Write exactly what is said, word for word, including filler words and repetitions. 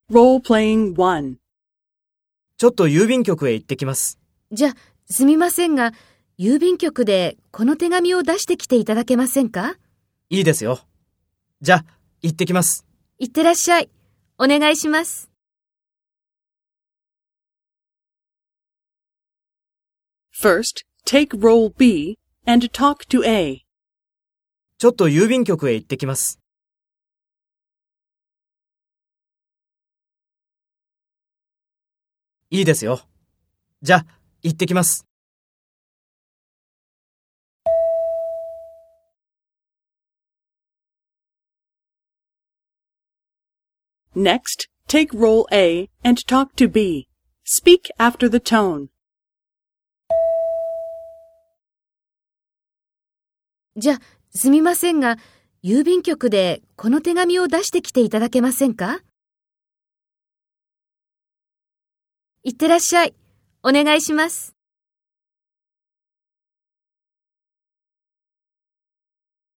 Role-playing one. ちょっと郵便局へ行ってきます。 じゃ、すみませんが、郵便局でこの手紙を出してきていただけませんか？ いいですよ。じゃ、行ってきます。 いってらっしゃい。お願いします。 First, take role B and talk to A. ちょっと郵便局へ行ってきます。いいですよ。じゃ、行ってきます。 Next, take role A and talk to B. Speak after the tone. じゃ、すみませんが、郵便局でこの手紙を出してきていただけませんか？いってらっしゃい。お願いします。